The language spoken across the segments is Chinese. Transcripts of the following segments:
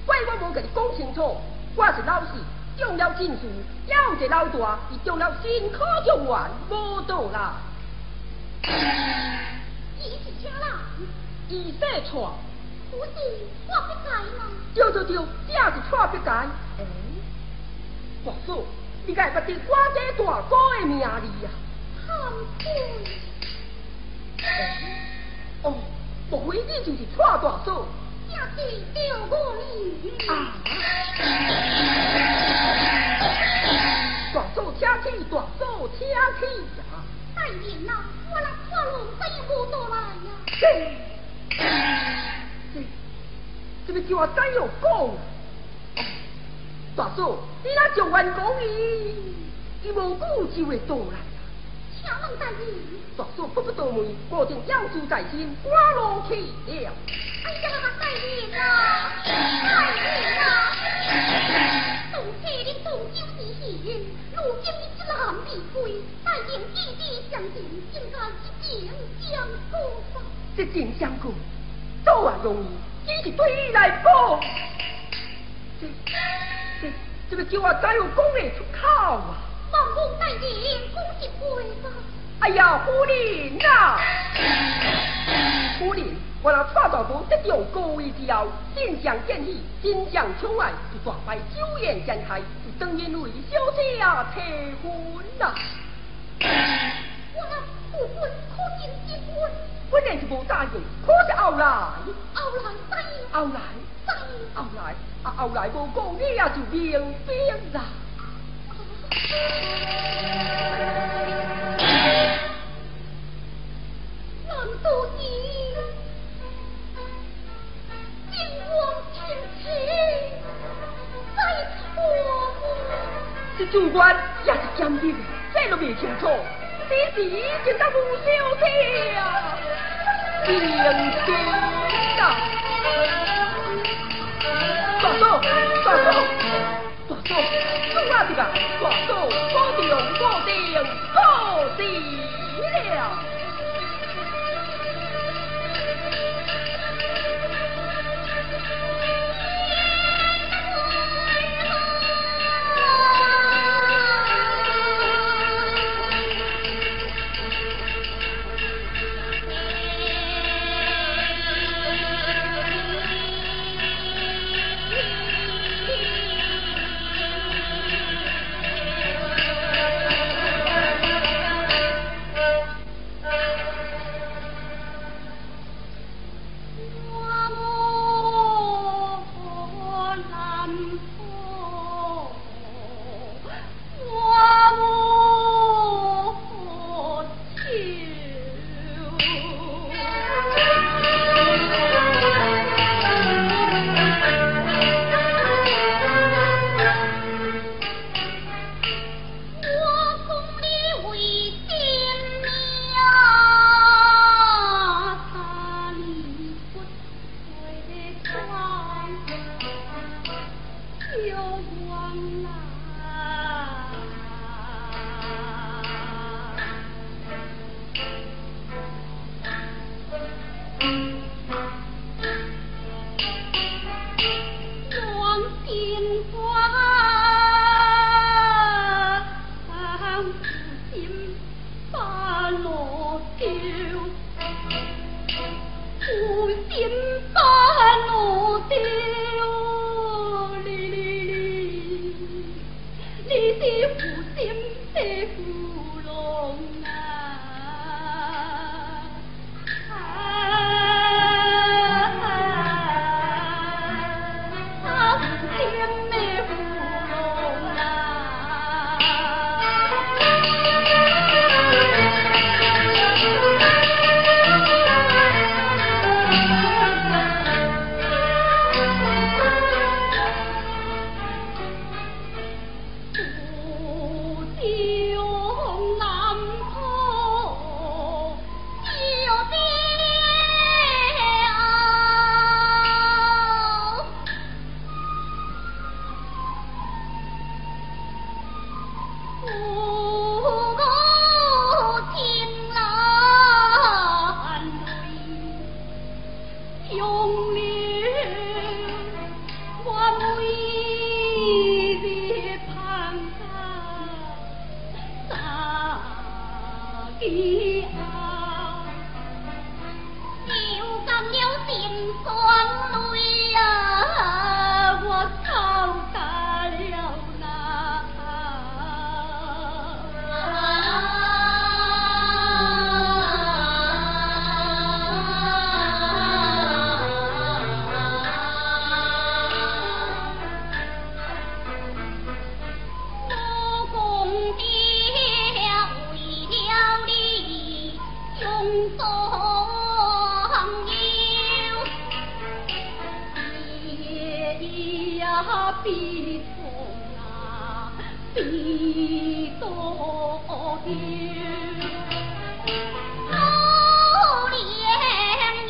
怪我无甲你讲清楚，我是老师，中了证书，要一个老大，伊中了新科状元，无倒来。 伊是啥人？ 伊说错。 不是我不该吗？ 对，这是错不该。大嫂，你该捌伫我这大哥的名字啊？ 惭愧。 哦，莫非你就是错大嫂？ 也是着我哩。 啊！大嫂请起，大嫂请起呀！ 大人呐，我来看路怎无倒来呀？ 这个叫我怎样讲？大嫂，你若状元讲伊无久就会倒来。 请问大人， 大嫂不倒门，果定要事在身，赶路去了。 哎呀，大人啊，大人啊！从前你同酒之嫌，如今你一男未归，大人义理相承，应该一情相顾吧？ 一情相顾，倒啊容易，只是对伊来讲，这个叫我怎样讲得出口啊？ 望望大人讲一句吧。 哎呀，夫人呐！夫人，我那蔡大哥得到高位之后，心上见喜，心上宠爱，就大摆酒宴宴客，就当然为小姐提婚啦。 我那父君可曾结婚？ 本来就无答应，可是后来答应。后来无讲，你也就明白啦。 难道你惊慌情切在错吗？ 这主官也是检点，这都未清楚，此时已经到无小姐啊，明天啊！大嫂，主啊这个，大嫂，保定过时了。 记啊，流干了心酸泪啊，我操大了那。比痛啊，比多丢，可怜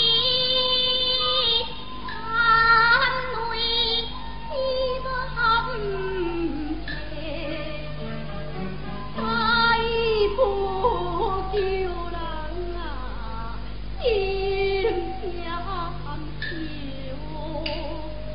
伊含泪含血，再不救人啊，心相求。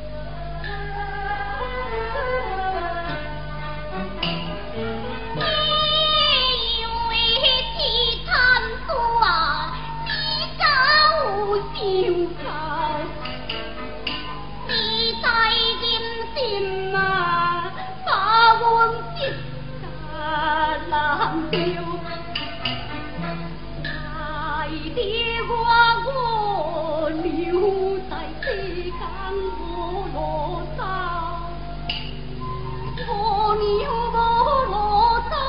你在人心啊，把阮一家人丢，爱的我留在世间无路走，我娘无路走。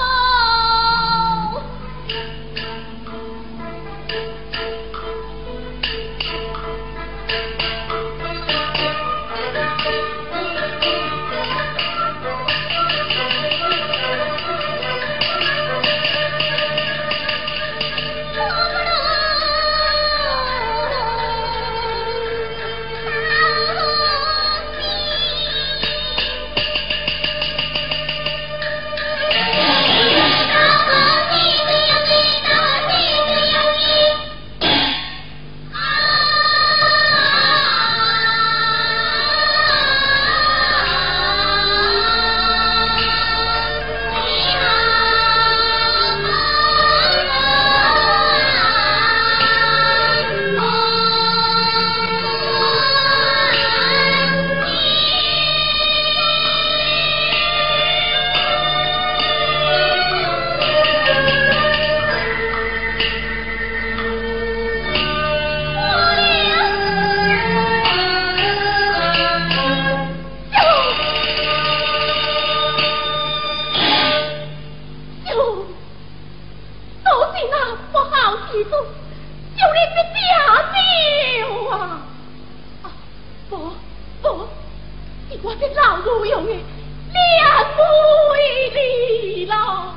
我的老母用的两妹你了，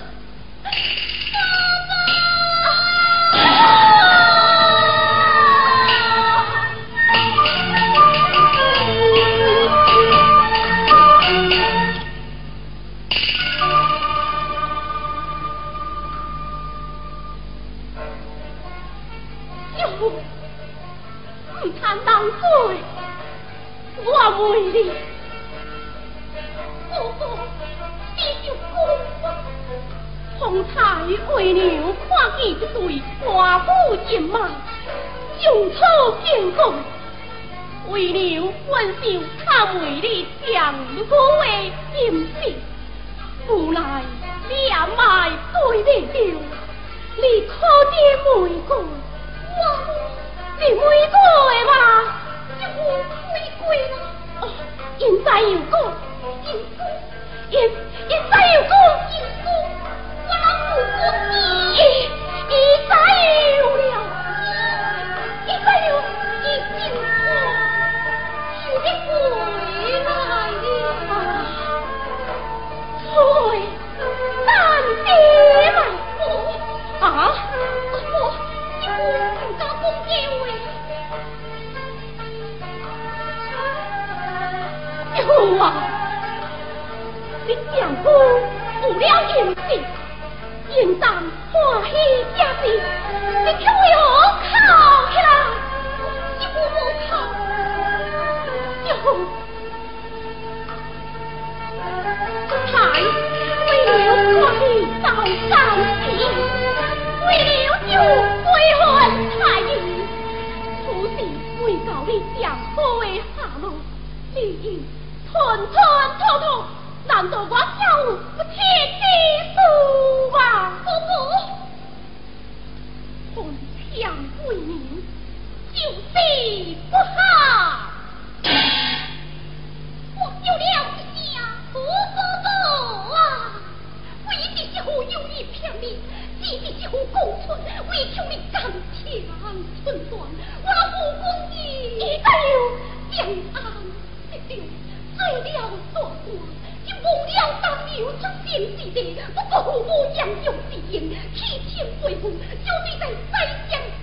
不贪浪费，我为你，哥哥，你就讲，方才为娘看见一对花虎人马，用草建功，为娘本想看为你将我的心事，无奈你也卖对你了，你可知玫瑰，你玫瑰嘛，就玫瑰啦。哦，现在又讲，现在又讲，我老母讲，现在有了，现在有已经我是回来了，回咱爹来。 寸寸头头，难道我小不切地父啊？不，红墙为民，就是不好。我救了一下，不啊！为的是乎有意骗你，为的是乎公存，为求你干强寸断，我那武功义一个将安一丢，罪了做官，就忘了当牛出现之地，不过父母养育之言，弃情为父，就你在宰相